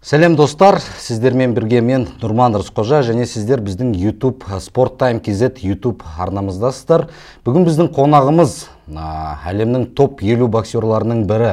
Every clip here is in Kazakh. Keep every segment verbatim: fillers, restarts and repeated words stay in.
Сәлем достар, сіздермен бірге мен Нұрман Рысқожа және сіздер біздің YouTube Sport Time кз YouTube арнамыздасыздар. Бүгін біздің қонағымыз әлемнің топ елу боксерларының бірі,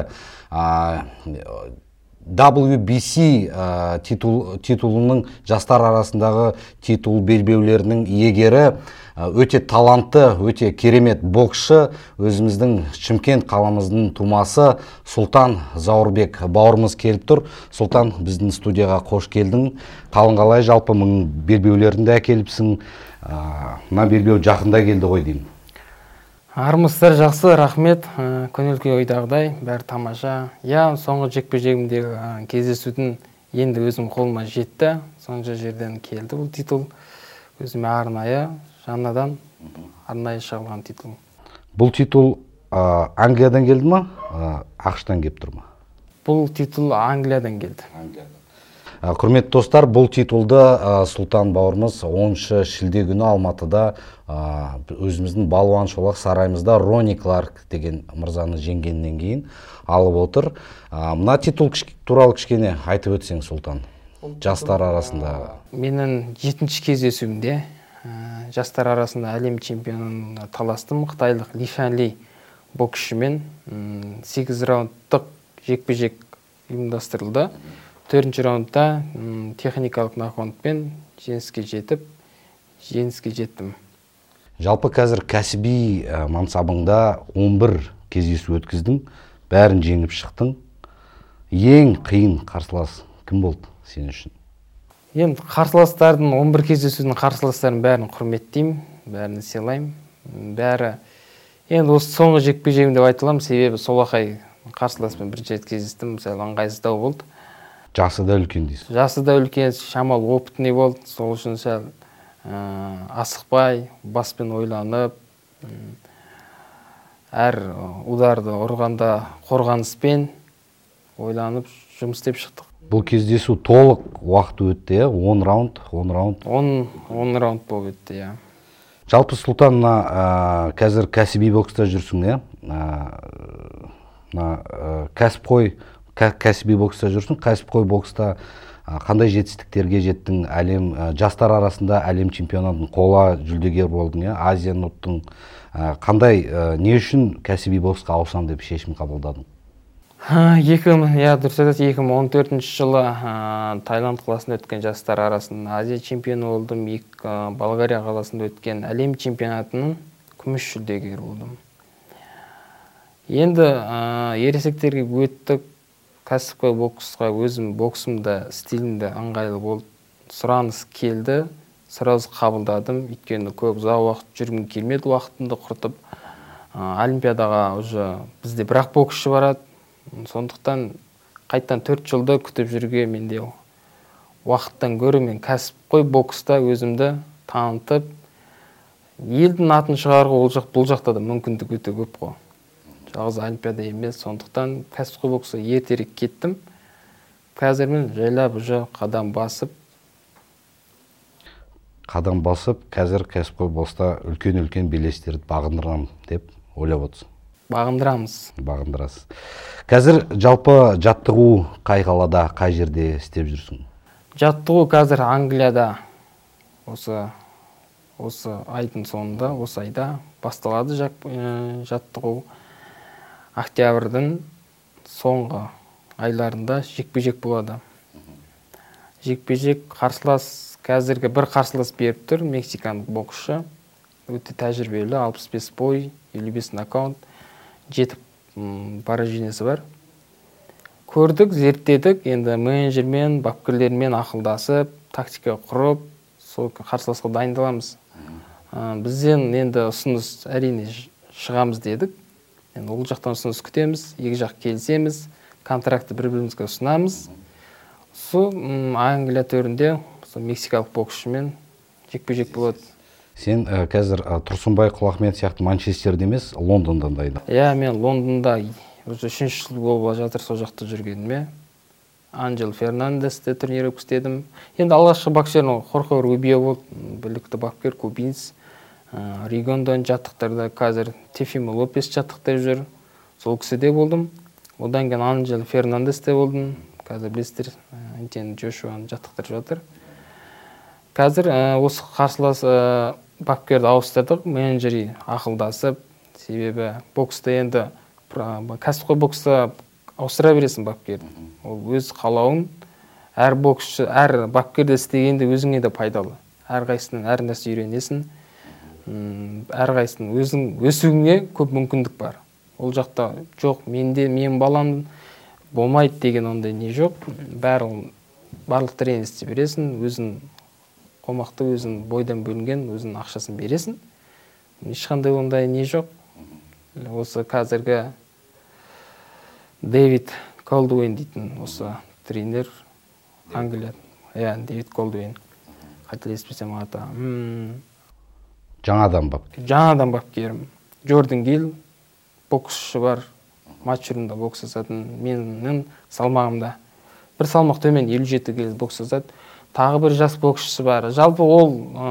дабл ю би си титул, титулының жастар арасындағы титул белбеулерінің иегері, өте талантты, өте керемет боксшы, өзіміздің Шымкент қаламыздың тумасы Сұлтан Заурбек бауырымыз келіп тұр. Сұлтан, біздің студияға қош келдің. Қалың қалай, жалпы мың белбеулерді әкеліпсің. Мына белбеу жақында келді ғой деймін. Армысыздар, жақсы, рахмет. Көңіл-күй ойдағыдай, бәрі тамаша. Я, соңғы жекпе-жегімдегі кездесудің енді өзім қолыма жетті. Соңғы жерден келді бұл титул. Өзіме арнайы, жаңадан арнайы шығылған титул. Бұл титул Англиядан келді ма, ақштан келіп тұр ма? Бұл титул Англиядан келді. Құрметті достар, бұл титулды Сұлтан бауырымыз оныншы шілде күні Алматыда өзіміздің балуан шолақ сарайымызда Ронни Кларк деген мырзаны жеңгеннен кейін алып отыр. Мына титул туралы кішкене айтып өтсең, Сұлтан, жастар арасында. Менің жетінші кездесуімде жастар арасында әлем чемпионын таластым. Қытайлық Ли Шанли боксшымен сегіз раундтық жекпе-жек ұйымдастырылды. төртінші раундта техникалық нокаутпен жеңіске жетіп, жеңіске жеттім. Жалпы қазір кәсіби мансабыңда он бір кездесу өткіздің, бәрін жеңіп шықтың. Ең қиын қарсылас кім болды сен үшін? Енді қарсыластардың, он бір кездесудің қарсыластарын бәрін құрметтеймін, бәрін сыйлаймын. Бәрі енді осы соңғы жекпе-жегім деп айта аламын, себебі солақай қарсыласпен бірінші рет кездестім, мысалы ыңғайсыздау болды. Жасы да үлкен дейсіз. Жасы да үлкен, шамал опытный болды. Сол үшін сәл асықпай, баспен ойланып, әр ударды ұрғанда қорғаныспен ойланып жұмыс істеп шықтық. Бұл кездесу толық уақыт өтті, он раунд, он раунд. он раунд болып өтті, иә. Жалпы Сұлтан, қазір кәсіби бокста жүрсің, кәсіпқой кәсіби бокста жүрсің, кәсіпқой бокста қандай жетістіктерге жеттің? Әлем жастар арасында әлем чемпионатының қола жүлдегер болдың, Азия нұттың. Қандай, не үшін кәсіби боксқа ауысам деп шешім қабылдадың? екі мың он төртінші жылы Таиланд қаласында өткен жастар арасында Азия чемпионы болдым. Болгария қаласында өткен әлем чемпионатының күміс жүлдегері болдым. Енді ересектерге өттік. Кәсіпқой боксқа өзім боксымда стилімді ыңғайлы болды. Сұраныс келді, сразу қабылдадым. Өйткені көп ұзақ уақыт жүргім келмеді, уақытымды құртып. Олимпиадаға уже бізде бір-ақ боксшы барады. Сондықтан қайттан төрт жылды күтіп жүрге менде уақыттан гөрі мен кәсіпқой бокста өзімді танытып, елдің атын шығаруға ол жақ бұл жақта да мүмкіндік өте көп қой. Жалғыз олимпиада емес, сондықтан кәсіпқой боксқа ертерек кеттім. Қазір мен жайлап уже қадам басып. Қадам басып, қазір кәсіпқой бокста үлкен-үлкен белестерді бағындырам деп ойлап отырсың. Бағындырамыз. Бағындырасыз. Қазір жалпы жаттығу қай қалада, қай жерде істеп жүрсің? Жаттығу қазір Англияда осы осы айдың соңында, осы айда басталады жаттығу. Октябрьдің соңғы айларында жекпе-жек болады. Жекпе-жек қарсылас, қазіргі бір қарсылас беріп тұр, мексикандық боксшы. Өте тәжірибелі, алпыс бес бой, елу бес нокаут, жеті поражениесі бар. Көрдік, зерттедік, енді менеджермен, бапкерлермен ақылдасып, тактика құрып, сол қарсыласқа дайындаламыз. Бізден енді ұсыныс әрине шығамыз дедік. Енді ол жақтан ұсыныс күтеміз, екі жақ келісеміз, контракты бір-бірімізге ұсынамыз. Сол Англия төрінде мексикалық боксшымен жекпе-жек болады. Сен қазір Тұрсынбай Құлахмет сияқты Манчестерде емес, Лондондан дайын. Иә, мен Лондонда үшінші жыл болып жатыр сол жақта жүргеніме. Анджел Фернандесте турнир өткіздедім. Енді алғашқы боксердің Хорхе Рубио болды, білікті бапкер, кубинец. Ригондон жаттықтарда қазір Тефимо Лопес жаттықтар жүр. Сол кісіде болдым. Одан кейін Анджел Фернандесте болдым. Қазір білесіздер, Антен Джошуаны жаттықтырып жатыр. Қазір осы қарсылас бапкерді ауыстырдық, менеджері ақылдасып, себебі бокста енді кәсіпқой бокста ауыстыра бересің бапкерді. Ол өз қалауын әр боксшы, әр бапкерді істегенде өзіңе де пайдалы. Әрқайсының әр нәрсе үйренесің. Әрқайсының өзің өсуіңе көп мүмкіндік бар. Ол жақта жоқ, менде мен балам болмайды деген ондай не жоқ. Барлық тренер істей бересің, өзің қомақты, өзің бойдан бөлінген, өзің ақшасын бересің. Ешқандай ондай не жоқ. Осы қазіргі Дэвид Колдуэйн дейтін осы тренер Англия. Иә, Дэвид Колдуэйн. Қателеспесем аты. Жаңадан бапкер. Жаңадан бапкерім. Джордан Гилл боксшы бар. Матч түрінде бокс жасатын. Менің салмағымда бір салмақ төмен елу жеті келі бокс жасады. Тағы бір жас боксшысы бар. Жалпы ол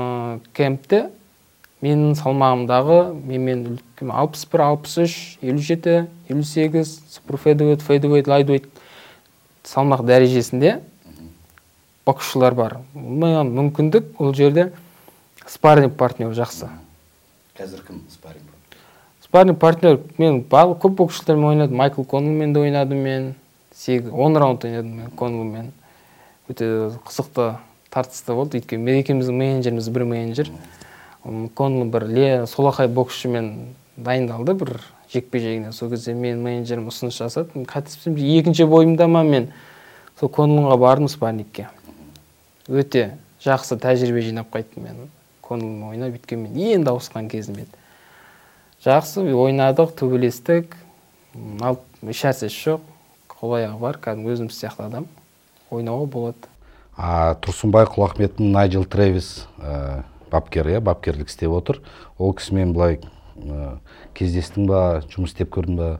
кемпте менің салмағымдағы менмен алпыс бір, алпыс үш, елу жеті, елу сегіз, супер фэдвейт, фэдвейт, лайтвейт салмақ дәрежесінде боксшылар бар. Маған мүмкіндік ол жерде спарринг партнер жақсы. Қазір кім спарринг? Спарринг партнер мен көп боксшылармен ойнадым. Майкл Коннелмен де ойнадым мен. он раунд ойнадым мен Коннелмен. Өте қызықты, тартысты болды. Өйткені мен екеуміздің менеджеріміз бір менеджер. Коннел бір солақай боксшымен дайындалды бір жекпе-жегіне. Сол кезде мен менеджерім ұсыныс жасады. Қателеспесем екінші бойымда ма мен сол Коннелға бардым спаррингке. Өте жақсы тәжірибе жинап қайттым мен. Коннелмен ойнап, өйткені мен енді ауысқан кезім еді. Жақсы ойнадық, төбелестік. Еш нәрсе жоқ. Қол-аяғы бар, кәдімгі өзім сияқты адам. Ойнауға болады. Тұрсынбай Құлахметтің Найджел Трэвис бапкер, бапкерлік істеп отыр. Ол кісімен былай кездестің ба, жұмыс істеп көрдің ба?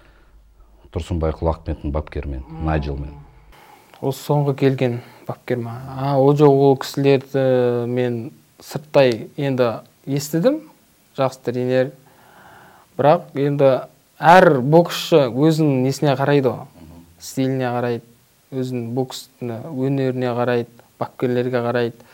Тұрсынбай Құлахметтің бапкермен, Найджелмен. Ол соңғы келген бапкер ма? Ол жоқ, ол кісілерді мен сырттай енді естідім. Жақсы тренер. Бірақ енді әр боксшы өзінің несіне қарайды, стиліне қарайды, өзінің боксына, өнеріне қарайды, бапкерлерге қарайды.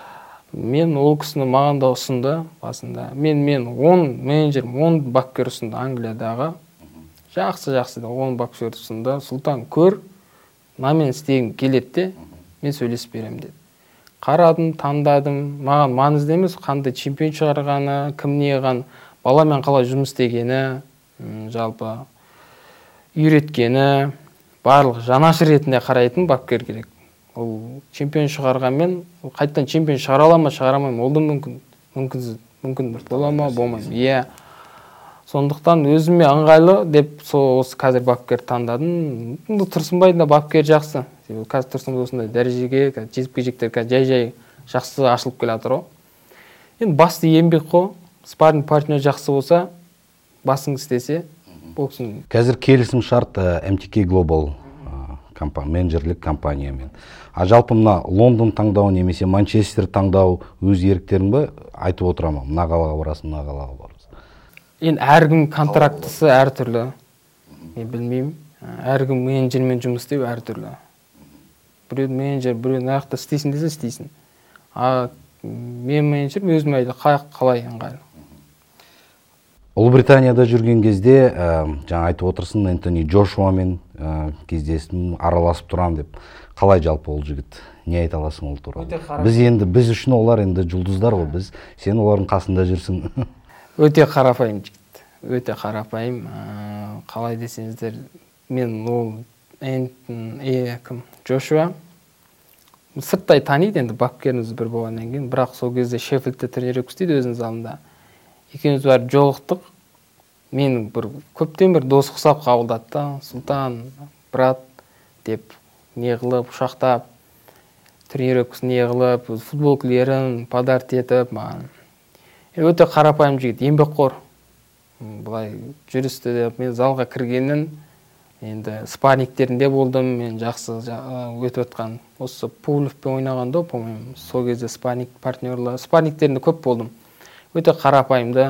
Мен ол кісіні маған да ұсынды басында. Мен мен он менеджерім, он бапкер ұсынды Англиядағы. Жақсы-жақсы да он бапкер ұсынды. Сұлтан көр, мынамен істегім келеді де, мен сөйлесіп беремін деді. Қарадым, таңдадым. Маған маңызды емес, қандай чемпион шығарғаны, кім неған, баламен қалай жұмыс істегені, жалпы үйреткені, барлық жанашыр ретінде қарайтын бапкер керек. Ол чемпион шығарғанмен, қайттан чемпион шығара ала ма, шығара алмаймын, ол да мүмкін, мүмкін, мүмкін бір бола ма, болмаймын. Иә. Сондықтан өзіме ыңғайлы деп осы қазір бапкер таңдадым. Тұрсынбайдың да бапкер жақсы. Қазір Тұрсынбай осындай дәрежеге, жекпе-жектер жай-жай жақсы ашылып келе жатыр. Енді басты еңбек қой. Спарринг партнер жақсы болса, басың істесе, боксын. Қазір келісім шарт эм ти кей Global менеджерлік компаниямен. А жалпы мына Лондон таңдау немесе Манчестер таңдау өз еріктерің бе? Айтып отырамын, мына қалаға барасың, мына қалаға барасың. Енді әркім контрактысы әртүрлі. Мен білмеймін. Әркім менеджермен жұмыс істеу әртүрлі. Біреу менеджер, біреу нақты істейсің десе істейсің. А мен менеджер өзіме айтты, қалай ыңғайлы. Ұлыбританияда жүрген кезде, жаңа айтып отырсың, Энтони Джошуамен кездестім, араласып тұрам деп. Қалай жалпы ол жігіт? Не айта аласың ол туралы? Біз енді, біз үшін олар енді жұлдыздар ғой, біз. Сен олардың қасында жүрсің. Өте қарапайым жігіт. Өте қарапайым. Қалай десеңіздер, мен ол Энтони Джошуа сырттай таниды, енді бапкеріміз бір болғаннан кейін, бірақ сол кезде Шеффилдте тренировка істейді өзінің залында. Екеуміз бар жолықтық. Мен бір көптен бір дос құсап қабылдады. Сұлтан, брат деп не қылып, ұшақтап, тренировкасын не қылып, футболкілерін подарок етіп маған. Өте қарапайым жігіт, еңбекқор. Былай жүрісті деп мен залға кіргеннен енді спаррингтерінде болдым, мен жақсы өтіп отқан. Осы Пулевпен ойнағанда, по-моему, сол кезде спарринг партнерлар, спаррингтерінде көп болдым. Өте қарапайымды.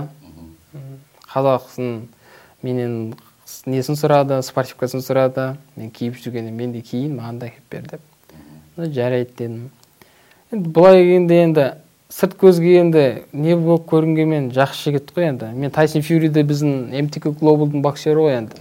Қазақсын менен несін сұрады, спортивкасын сұрады. Мен киіп жүргенде мен де киін, маған да киіп бер деп. жарайды дедім. Енді былай келгенде енді сырт көзге енді не болып көрінгенмен жақсы жігіт қой енді. Мен Тайсон Фьюриде біздің эм ти кей Global'дың боксері ғой енді.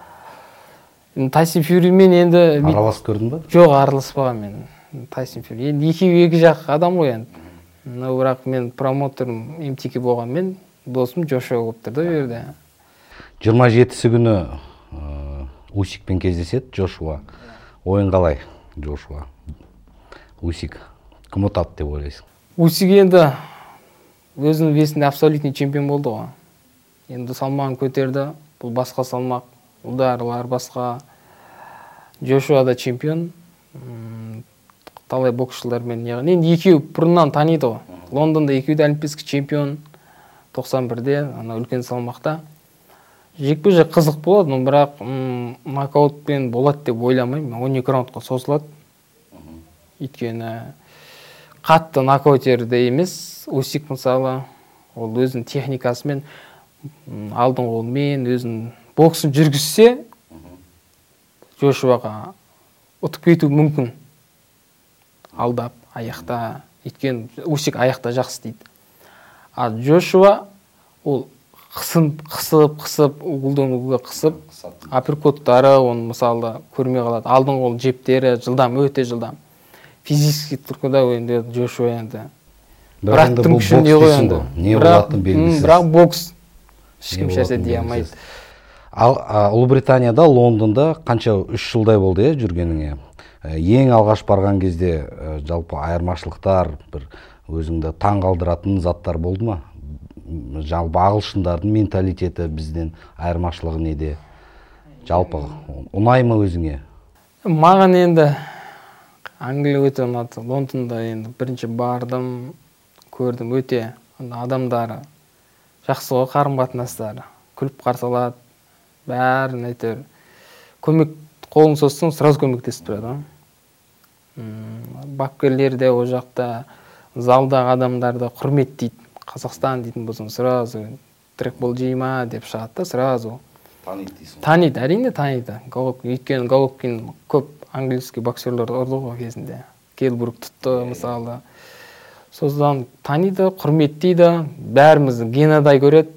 Тайсон Фьюримен енді араласып көрдің ба? Жоқ, араласпаған мен. Тайсон Фьюри енді екеуі екі жақ адам ғой енді. Но бірақ мен промоутерім эм ти кей болғанмен досым Джошуа болып тұрды ол жерде. жиырма жетісі күні Усикпен кездеседі Джошуа. Ойын қалай Джошуа? Усик кім ұтады деп ойлайсың? Усик енді өзінің весінде абсолютный чемпион болды ғой. Енді салмағын көтерді. Бұл басқа салмақ, ұлдарлар басқа. Джошуа да чемпион. Талай боксшылармен неғын. Енді екеуі бұрыннан таниды ғой. Лондонда екеуі де олимпийский чемпион. тоқсан бірде, ана үлкен салмақта. Жекпе-жек қызық болады, но бірақ нокаутпен болады деп ойламаймын. он екі раундқа созылады. Өйткені қатты нокаутерде емес. Усик мысалы, ол өзінің техникасымен, алдын қолмен, өзінің боксын жүргізсе, Джошуаға ұтып кету мүмкін. Алдап, аяқта, өйткені Усик аяқта жақсы дейді. А Джошуа ол қысып, қысып, қысып, уылдан уылға қысып, апперкоттары, оны мысалы көрмей қалады. Алдын қол жептері жылдам, өте жылдам. Физически тұрғыда енді Джошуа енді. Бірақ бұл бокс дейсің ғой, не болатыны белгісіз. Бірақ бокс ешкім шәрсе дей алмайды. Ал Ұлыбританияда, Лондонда қанша үш жылдай болды жүргеніңе? Ең алғаш барған кезде жалпы айырмашылықтар, бір өзіңді таң қалдыратын заттар болды ма? Жалпы ағылшындардың менталитеті бізден айырмашылығы неде? Жалпы ұнай ма өзіңе? Маған енді Англия өте ұнады. Лондонда енді бірінші бардым, көрдім, өте адамдары жақсы ғой, қарым-қатынастары, күліп қарсы алады, бәрін әйтеуір көмек қолын созсаң сразу көмектесіп тұрады. Бапкерлер де ол жақта залдағы адамдарды құрметтейді. Қазақстан дейтін болсаң сразу трекбол жей ма деп шығады да, сразу таниды дейсің. Таниды, әрине таниды. Өйткені Головкин көп английский боксерлер ұрды ғой кезінде. Келбрук тұтты мысалы. Содан таниды, құрметтейді, бәрімізді Генадай көреді.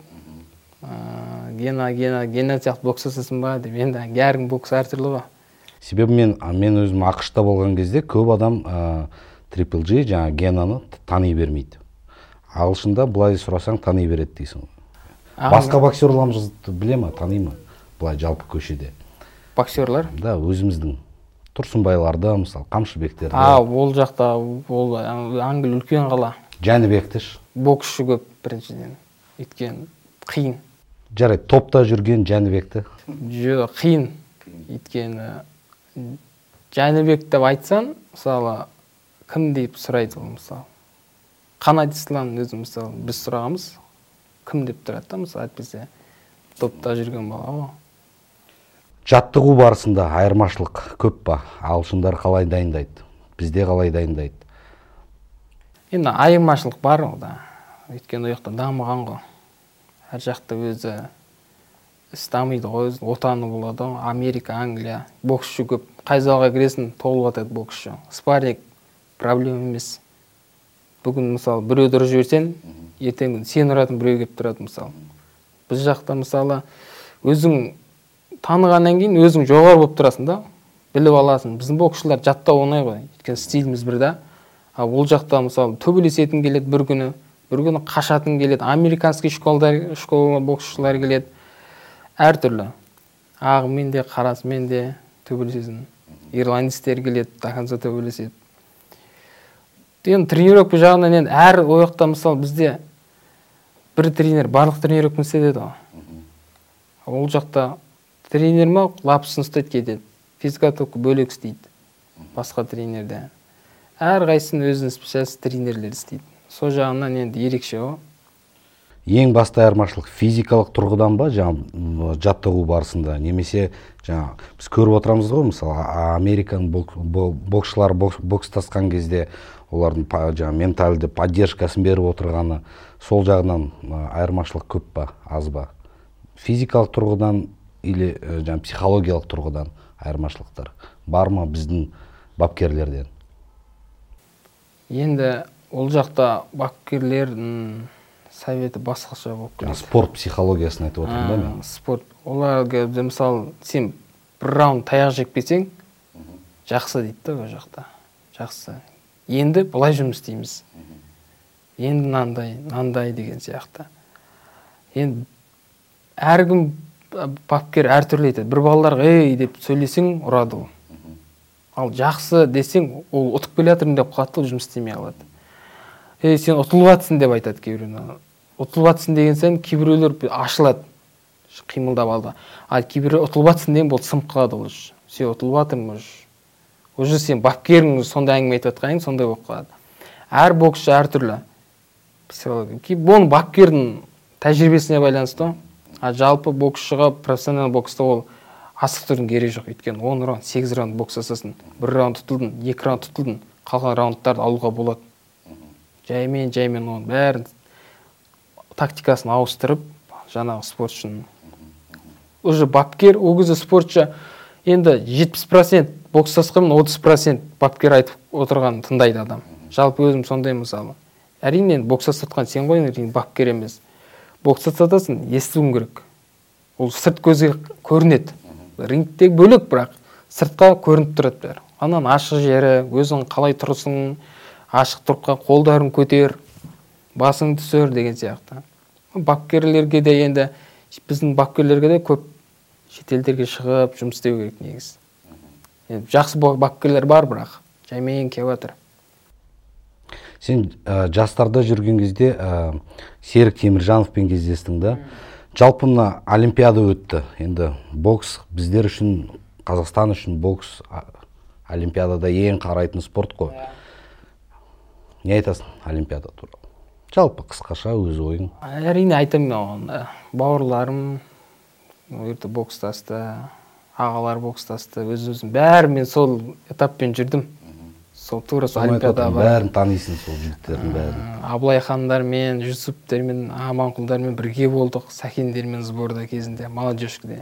Гена, Гена, Гена сияқты бокс жасасын ба деп. Енді әркім бокс әртүрлі ғой. Себебі мен мен өзім ақшта болған кезде көп адам Triple G жаңа Генаны тани бермейді. Ағылшында былай сұрасаң тани береді дейсің. Басқа боксерларымызды біле ма, тани ма? Былай жалпы көшеде. Боксерлар? Да, өзіміздің Тұрсынбайларды, мысалы, Қамшыбектерді. А, ол жақта, ол Англия үлкен қала. Жәнібекті ш? Боксшы көп біріншіден. Өйткені қиын. Жарайды, топта жүрген Жәнібекті? Жоқ, қиын. Өйткені Жәнібек деп айтсан, мысалы, кім деп сұрайды ол, мысалы. Қанат Ислам өзі, мысалы, біз сұрағымыз, кім деп тұрады да, мысалы, әйтпесе топта жүрген бала ғой. Жаттығу барысында айырмашылық көп па? Ағылшындар қалай дайындайды? Бізде қалай дайындайды? Енді айырмашылық бар ғой да. Өйткені ол жақта дамыған ғой. Әр жақта өзі іс дамиды ғой, отаны болады ғой. Америка, Англия, боксшы көп. Қай залға кіресің, толып жатады боксшы. Спарринг проблема емес. Бүгін мысалы біреу дұрыс жіберсең, ертең сен ұратын біреу келіп тұрады мысалы. Біз жақта мысалы өзің танығаннан кейін өзің жоғары болып тұрасың да, біліп аласың. Біздің боксшылар жаттау оңай ғой, өйткені стиліміз бір да. А ол жақта мысалы төбелесетін келеді бір күні, бір күні қашатын келеді. Американский школдар, школа боксшылар келеді. Әртүрлі. Ағымен де, қарасымен де төбелесесің. Ирландистер келеді, до конца төбелеседі. Енді тренировка жағынан енді әр ояқта мысалы бізде бір тренер барлық тренировканы істетеді ғой. Ол жақта тренер ма лапысын ұстайды кетеді. Физкультурка бөлек істейді. Басқа тренерде. Әр қайсының өзінің специалист тренерлер істейді. Сол жағынан енді ерекше ғой. Ең басты айырмашылық физикалық тұрғыдан ба, жаңа жаттығу барысында, немесе жаңа біз көріп отырамыз ғой, мысалы Американ боксшылар бокстасқан кезде олардың жаңа менталды поддержкасын беріп отырғаны, сол жағынан айырмашылық көп па, аз ба? Физикалық тұрғыдан или жаңа психологиялық тұрғыдан айырмашылықтар бар ма біздің бапкерлерден? Енді ол жақта бапкерлердің советі басқаша болып келеді. Спорт психологиясын айтып отырмын да мен. Спорт. Оларға мысалы сен бір раунд таяқ жеп кетсең, жақсы дейді да ол жақта. Жақсы. Енді былай жұмыс істейміз. Енді нандай, нандай деген сияқты. Енді әркім бапкер әртүрлі етеді. Бір балаларға ей деп сөйлесең ұрады ол. Ал жақсы десең, ол ұтып келе жатырмын деп қатты жұмыс істемей қалады. Ей, сен ұтылып жатсың деп айтады кейбіреулер. Ұтылып жатсың деген сайын кейбіреулер ашылады, қимылдап алды. Ал кейбіреулер ұтылып жатсың деген болды сынып қалады ол. Сен ұтылып жатырмын уже. Уже сен бапкерің сондай әңгіме айтып жатқаның сондай болып қалады. Әр боксшы әртүрлі. Бұл бапкердің тәжірибесіне байланысты. А жалпы боксшыға профессионал бокста ол асықтырудың керегі жоқ. Өйткені он раунд, сегіз раунд бокс жасасын. бір раунд тұтылдың, екі раунд тұтылдың, қалған раундтарды алуға болады. Жаймен, жаймен оның бәрін тактикасын ауыстырып, жаңағы спортшының. Уже бапкер, ол кезде спортшы енді жетпіс процент бокс жасқанмен отыз процент бапкер айтып отырған тыңдайды адам. Жалпы өзім сондай мысалы. Әрине бокс жасатқан сен ғой, бапкер емес. Бокс жасатасың, естуің керек. Ол сырт көзге көрінеді. Рингтегі бөлек, бірақ сыртқа көрініп тұрады бәрі. Анан ашық жері, өзің қалай тұрсың, ашық тұрыққа қолдарын көтер, басың түсер деген сияқты. Бапкерлерге де енді, біздің бапкерлерге де көп шетелдерге шығып жұмыс істеу керек негіз. Жақсы бапкерлер бар, бірақ жаймен келіп жатыр. Сен ә, жастарда жүрген кезде ә, Серік Теміржановпен кездестің да. Жалпы мына Олимпиада өтті. Енді бокс біздер үшін, Қазақстан үшін бокс Олимпиадада ең қарайтын спорт қой. Не айтасың Олимпиада туралы? Жалпы қысқаша өз ойың. Әрине айтамын, бауырларым өрті бокстасты, ағалар бокстасты, өз-өзім бәрі мен сол этаппен жүрдім. Сол тура сол Олимпиада бар. Бәрін танисың сол жігіттердің бәрін. Абылай хандармен, Жүсіптермен, Аманқұлдармен бірге болдық, Сәкендермен сборда кезінде, молодежкіде.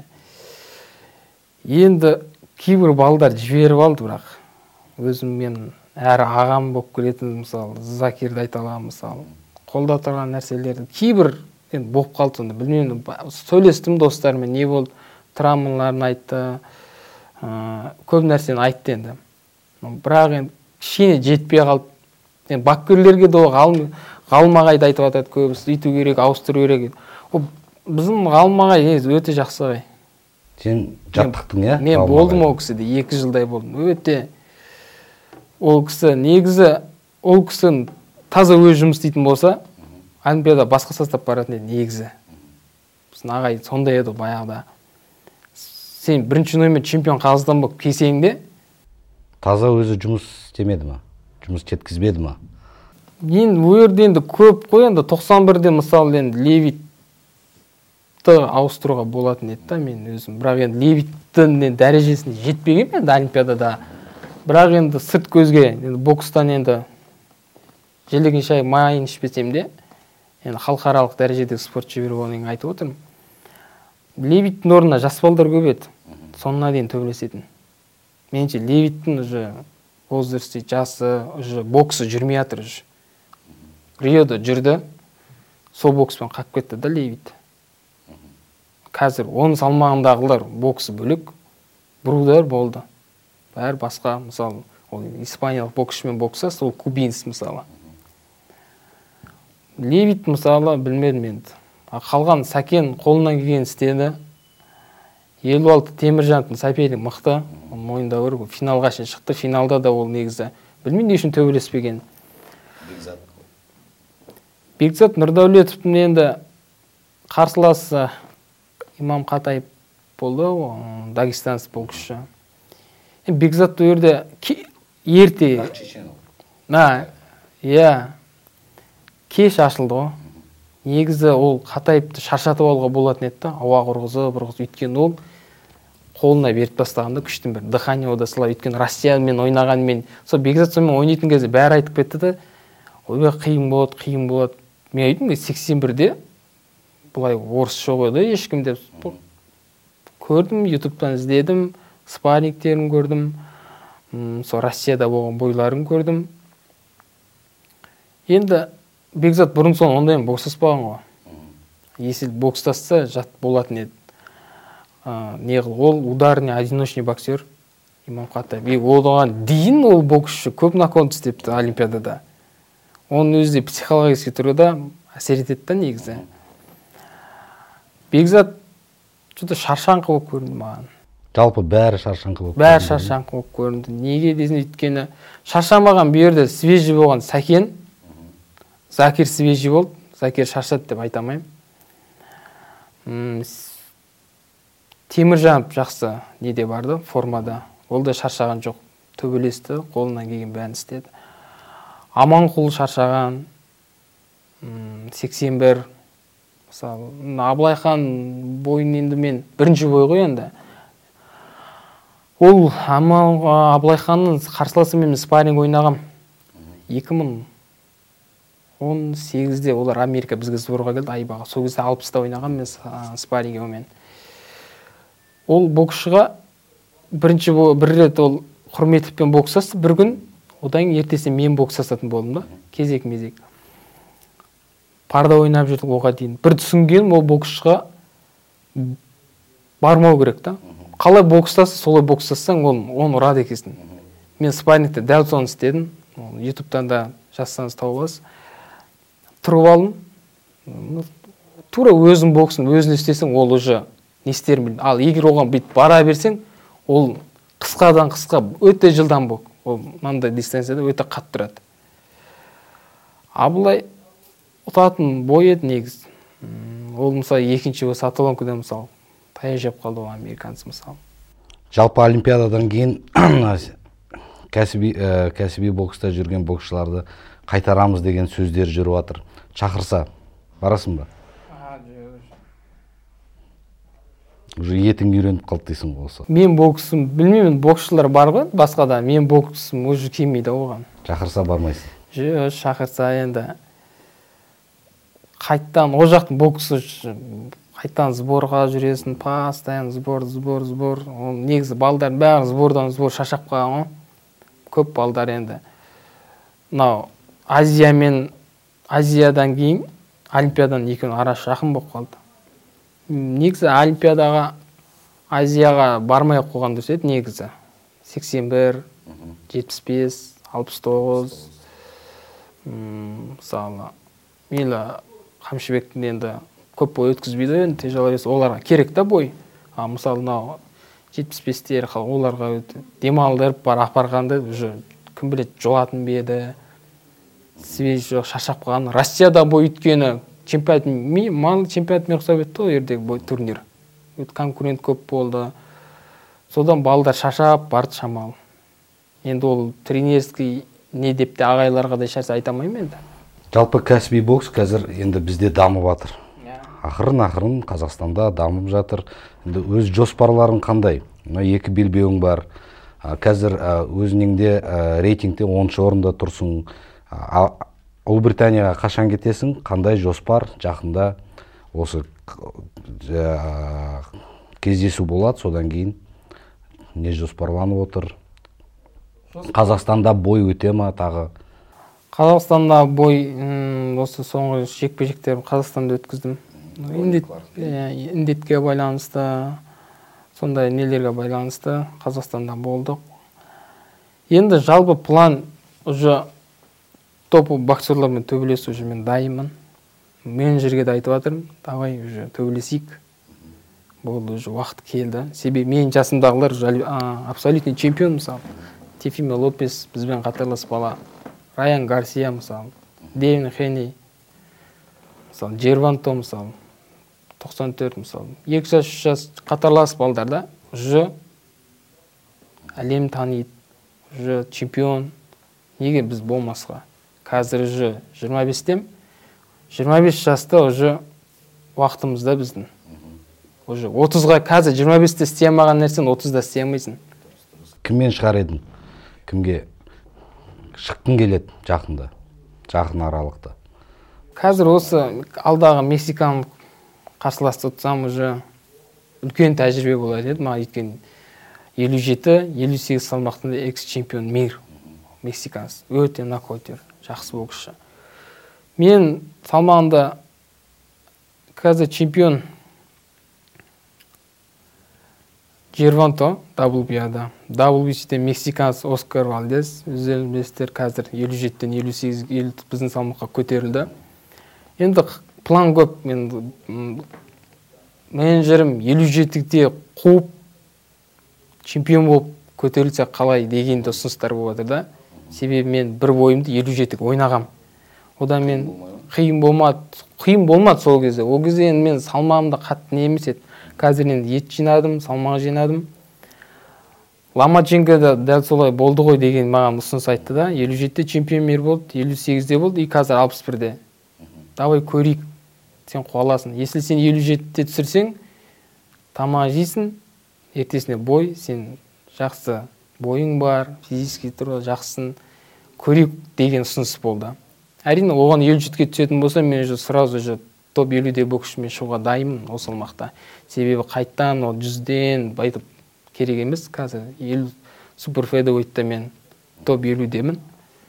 Енді кейбір балдар жіберіп алды, бірақ өзім мен әрі ағам болып келетін, мысалы, Закирді айта аламын, мысалы, қолда тұрған нәрселерді кейбір енді болып қалды сонда. Білмеймін, сөйлестім достарымен, не болды, травмаларын айтты, көп нәрсені айтты енді. Бірақ енді кішкене жетпей қалды. Енді бапкерлерге де ғалымағайды айтып жатады көбісі, үйту керек, ауыстыру керек. Ол біздің ғалымағай өте жақсы ғой. Сен жаттықтың, иә? Мен болдым ол кісіде, екі жылдай болдым. Өте ол кісі негізі, ол кісі таза өз жұмыс істейтін болса, Олимпиада басқа састап баратын еді негізі. Біздің ағай сондай еді баяғыда. Сен бірінші номер чемпион Қазақстан болып келсең таза өзі жұмыс істемеді ма? Жұмыс жеткізбеді ма? Енді өрді енді көп қой, енді тоқсан бірде мысалы енді Левитті ауыстыруға болатын еді да мен өзім. Бірақ енді Левиттің дәрежесіне жетпеген енді Олимпиадада. Бірақ енді сырт көзге, енді бокстан енді желеген шай майын ішпесем де, енді халықаралық дәрежедегі спорт шебері болғанын айтып отырмын. Левиттің орнына жас балдар көп еді. Сонына дейін төбелесетін. Меніңше Левиттің уже возрасты жасы, уже боксы жүрмей жатыр уже. Риода жүрді, сол бокспен қап кетті да Левит. Қазір оның салмағындағылар боксы бөлек, бұрудар болды. Бәрі басқа, мысалы, ол испаниялық боксшымен бокса, сол кубинс мысалы. Левит мысалы білмедім енді. Қалған Сәкен қолынан келген істеді. елу алты Теміржановтың сәпелі мықты, мойында бар, финалға шейін шықты. Финалда да ол негізі білмейді не үшін төбелеспеген. Бекзат. Бекзат Нұрдәулетовтың енді қарсыласы Имам Қатаев болды, дагестанец боксшы. Бекзат өрде ерте. На, иә. Кеш ашылды ғой. Негізі ол Қатаевты шаршатып алуға болатын еді, ауа құрғызы, бұрғыз өйткені ол қолына беріп тастағанда күштің бір дыхание одасылар, өйткені Россиямен ойнағанмен, сол Бекзат сонымен ойнайтын кезде бәрі айтып кетті де, ойбай қиын болады, қиын болады. Мен айттым, сексен бірде бұлай орысша қойды ешкім деп көрдім, ютубтан іздедім, спаррингтерін көрдім, сол Россияда болған бойларын көрдім. Енді Бекзат бұрын соң ондай бокстаспаған ғой. Если бокстасса жат болатын еді. Не қыл, ол ударный одиночный боксер Имам Қатаев. И оған дейін ол боксшы көп нокаут істепті Олимпиадада. Оның өзі психологический тұрғыда әсер етеді негізі. Бекзат что-то шаршаңқы болып көрінді маған. Жалпы бәрі шаршаңқы болып Бәрі шаршаңқы болып көрінді. Неге десін, өйткені шаршамаған бұл жерде свежий болған Сәкен, Закир свежий болды. Закир шаршады деп айта алмаймын. Теміржанов жақсы неде барды, формада. Ол да шаршаған жоқ. Төбелесті, қолынан келген бәрін істеді. Аманқұл шаршаған, сексен бір. Мысалы, Абылайхан бойын енді мен бірінші бой ғой енді. Ол Абылайханның қарсыласымен мен спарринг ойнағам. екі мың он сегізде олар Америка бізге сборға келді, Айбаға. Сол кезде алпыста ойнағам мен спарринг омен. Ол боксшыға бірінші бір рет ол Құрметовпен бокстасты бір күн, одан ертесіне мен бокстасатын болдым да, кезек-мезек. Парда ойнап жүрдік оға дейін. Бір түсінгенім, ол боксшыға бармау керек та. Қалай бокстасы, солай бокстассаң, оны ұрады екесін. Мен спаррингте дәл соны істедім. ютубтан да жазсаңыз тауып аласыз. Тұрып алдым. Тура өзің боксын, өзін істесең, ол уже не істерін білдің. Ал егер оған бүйтіп бара берсең, ол қысқадан қысқа өте жылдам бок. Ол мынандай дистанцияда өте қатты тұрады. Абылай ұтатын бой еді негіз. Ол мысалы екінші Саталонкада мысалы таяқ жеп қалды ол американцы мысалы. Жалпы Олимпиададан кейін кәсіби кәсіби бокста жүрген боксшыларды қайтарамыз деген сөздер жүріп жатыр. Шақырса барасың ба? Уже етің үйреніп қалды дейсің ғой осы. Мен боксым, білмеймін, боксшылар бар ғой, басқа да. Мен боксым уже келмейді оған. Шақырса бармайсың? Жоқ, шақырса енді қайттан, о жақтың боксы қайттан сборға жүресің, постоянно сбор, сбор, сбор. Негізі балдар бәрі сбордан сбор шашап қалған ғой. Көп балдар енді. Мынау Азия мен Азиядан кейін Олимпиададан екеуінің арасы жақын болып қалды. Негізі Олимпиадаға Азияға бармай қойған дұрыс еді негізі. сексен бір, жетпіс бес, алпыс тоғыз. Мысалы, мейлі Қамшыбектің енді көп бой өткізбейді, енді тяжеловес оларға керек та бой. А мысалы, мынау жетпіс бестер оларға демалдырып бар апарғанды уже кім білет жолатын беді. Свеж жоқ, шашап қалған. Россияда бой өткені чемпионат ми, мал чемпионат мен құсап етті ғой ердегі бой турнир. Конкурент көп болды. Содан балдар шашап барды шамал. Енді ол тренерский не деп те ағайларға да ешнәрсе айта алмаймын енді. Жалпы кәсіби бокс қазір енді бізде дамып жатыр. Ақырын-ақырын Қазақстанда дамып жатыр. Енді өз жоспарларың қандай? Екі белбеуің бар. Қазір өзіңде рейтингте оныншы орында тұрсың. Ұлыбританияға қашан кетесің? Қандай жоспар? Жақында осы кездесу болады, содан кейін не жоспарланып отыр? Қазақстанда бой өте ма тағы? Қазақстанда бой осы соңғы жекпе-жектерін Қазақстанда өткіздім. Індетке байланысты, сондай нелерге байланысты Қазақстанда болдық. Енді жалпы план уже топ боксерлармен төбелесу уже мен дайынмын. Менеджерге де айтып жатырмын, давай уже төбелесейік. Болды, уже уақыт келді. Себебі мен жасымдағылар абсолютный чемпион мысалы. Тефиме Лопес бізбен қатарлас бала. Райан Гарсия мысалы. Дэвин Хенни. Мысалы, Джерванто мысалы. тоқсан төрт мысалы. екі жас, үш жас қатарлас балдарда уже әлем таниды. Уже чемпион. Неге біз болмасқа? Қазір уже жиырма бестем. жиырма бес жаста уже уақытымызда біздің. Уже отызға қазір жиырма бесте істей алмаған нәрсен отызда істей алмайсың. Кіммен шығар едің? Кімге шыққың келеді жақында? Жақын аралықта. Қазір осы алдағы Мексиканы қарсыласты ұтсам уже үлкен тәжірибе болады еді. Маған өйткені елу жеті елу сегіз салмақтында экс-чемпион мир Мексиканец. Өте нокаутер, жақсы боксшы. Мен салмағында қазір чемпион Жерванто дабл ю би ада. дабл ю би си-де мексиканец Оскар Валдес. Өздеріңіз білесіздер, қазір елу жетіден елу сегізге біздің салмаққа көтерілді. Енді план көп. Мен менеджерім елу жетіде қуып чемпион болып көтерілсе қалай дегенде ұсыныстар болып жатыр да. Себебі мен бір бойымды елу жетіге ойнағам. Одан мен қиын болмады. Қиын болмады сол кезде. Ол кезде мен салмағымда қатты не емес еді. Қазір енді ет жинадым, салмақ жинадым. Ломаченко дәл солай болды ғой деген маған ұсыныс айтты да. елу жетіде чемпион мир болды, елу сегізде болды, и қазір алпыс бірде. Давай көрейік, сен қуаласын. Если сен елу жетіде түсірсең, тамақ жейсің, ертесіне бой, сен жақсы бойың бар, физически тұрғы жақсысын, көрейік деген ұсыныс болды. Әрине, оған елу жетіге түсетін болса, мен уже сразу же топ елуде боксшымен шығуға дайынмын осы салмақта. Себебі қайттан ол жүзден байтып керек емес. Қазір елу супер федервейтте мен топ елудемін.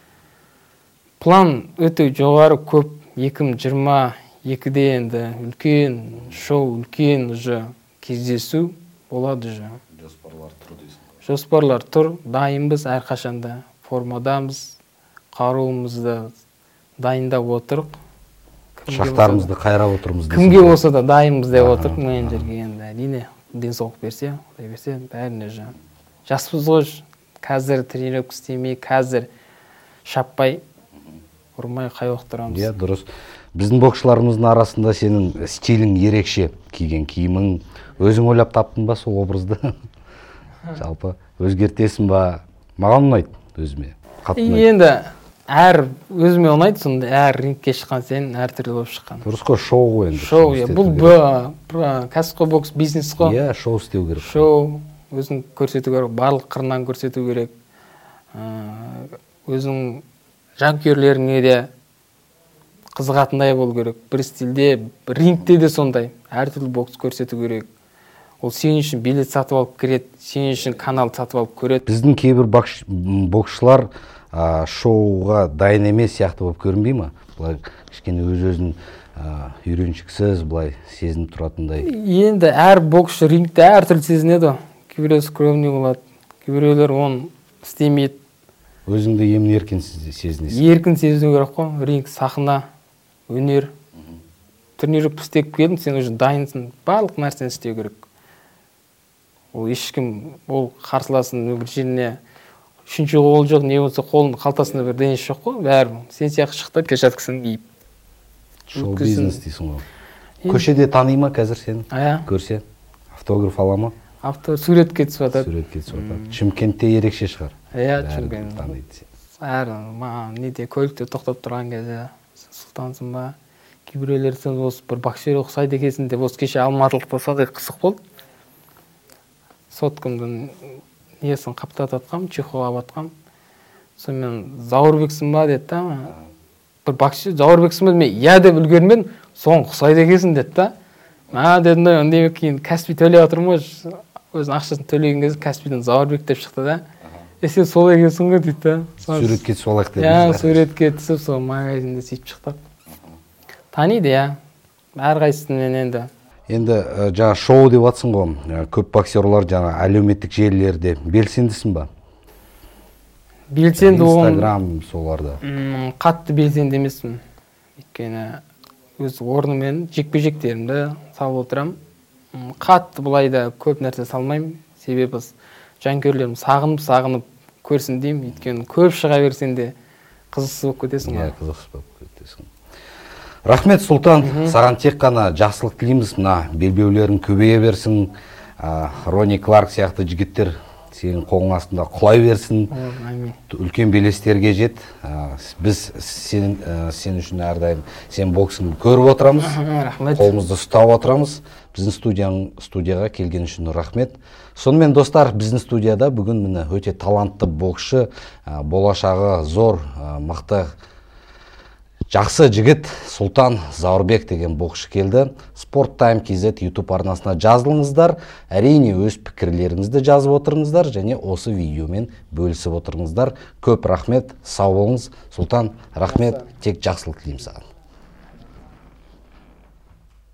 План өте жоғары көп. екі мың жиырма екіде енді үлкен шоу, үлкен уже кездесу болады уже. Жоспарлар тұр дейсің. Жоспарлар тұр. Дайынбыз әрқашанда. Формадамыз, қаруымызды дайындап отырық. Шақтарымызды қайрап отырмыз. Кімге болса да дайынбыз деп отырық менеджерге енді. Әрине, денсаулық берсе, құдай берсе, бәріне жа. Жаспыз ғой, қазір тренировка істемей, қазір шаппай, ұрмай қай отырамыз. Иә, дұрыс. Біздің боксшыларымыздың арасында сенің стилің ерекше, киген киімің, өзің ойлап таптың ба сол образды? Жалпы өзгертесің ба? Маған ұнайды өзіме. Енді әр өзіме ұнайды, сонда әр рингке шыққан сен әр түрлі болып шыққан. Дұрыс қой, шоу ғой енді. Шоу, бұл кәсіпқой бокс бизнес қой. Иә, шоу істеу керек. Шоу, өзін көрсету керек, барлық қырынан көрсету керек. Өзің жанкүйерлеріңе де қызығатындай болу керек. Бір стилде, рингте де сондай. Әр түрлі бокс көрсету керек. Ол сен үшін билет сатып алып кіреді, сен үшін канал сатып алып көреді. Біздің кейбір боксшылар шоуға дайын емес сияқты болып көрінбей ма? Бұлай кішкене өз-өзін үйреншіксіз, бұлай сезініп тұратындай. Енді әр боксшы рингте әр түрлі сезінеді. Кейбіреу скромный болады, кейбіреулер оны істемейді. Өзіңді емін еркін сезінесің. Еркін сезіну керек қой. Ринг, сахна, өнер. Тренировка істеп келдің, сен уже дайынсың. Барлық нәрсені істеу керек. Ол ешкім, ол қарсыласын бір жеріне үшінші қол жоқ, не болса қолын қалтасында бір денесі жоқ қой, бәрі. Сен сияқты шықты, перчаткасын киіп. Шоу бизнес дейсің ғой. Көшеде таный ма қазір сен? Көрсе, автограф ала ма? Суретке түсіп жатады. Суретке түсіп жатады. Шымкентте ерекше шығар. Иә, Шымкентте. Әр маған неде көлікте тоқтап тұрған кезде сұлтансың ба? Кейбіреулер сен осы бір боксер ұқсайды екенсің деп осы кеше алматылықта сондай қызық болды. Соткамдың несін қаптатып атқам, чехол алып атқам. Сонымен Зауырбексің ба деді да. Бір боксер Зауырбексің ба, мен иә деп үлгермедім. Соң ұқсайды екенсің деді да. А дедім да, ондаймен кейін Каспий төлеп отырмын ғой. Өзінің ақшасын төлеген кезде Каспийден Зауырбек деп шықты да. Е сен сол екенсің ғой дейді да. Суретке түсіп алайық дедім. Иә, суретке түсіп сол магазинде сөйтіп шықтық. Таниды иә. Әрқайсысымен енді. Енді жаңа шоу деп атсың ғой. Көп боксерлар жаңа әлеуметтік желілерде белсендісің ба? Белсенді оған. Инстаграм соларда. Қатты белсенді емеспін. Өйткені өз орнымен жекпе-жектерімді салып отырам. Қатты бұлайда көп нәрсе салмаймын. Себебі жанкүйерлерім сағынып-сағынып көрсін деймін. Өйткені көп шыға берсең де қызықсыз болып кетесің. Иә, қызықсыз болып кетесің. Рахмет, Сұлтан, саған тек қана жақсылық тілейміз. Мына белбеулерің көбейе берсін. Рони Кларк сияқты жігіттер сенің қолың астында құлай берсін. Үлкен белестерге жет. Біз сен үшін әрдайым сен боксыңды көріп отырамыз. Қолымызды ұстап отырамыз. Біздің студияға келген үшін рахмет. Сонымен достар, біздің студияда бүгін міне өте талантты боксшы, болашағы зор, мықты, жақсы жігіт Сұлтан Зауырбек деген боксшы келді. Спорт Тайм кз YouTube арнасына жазылыңыздар. Әрине өз пікірлеріңізді жазып отырыңыздар және осы видеомен бөлісіп отырыңыздар. Көп рахмет, сау болыңыз. Сұлтан, рахмет, тек жақсылық тілеймін саған.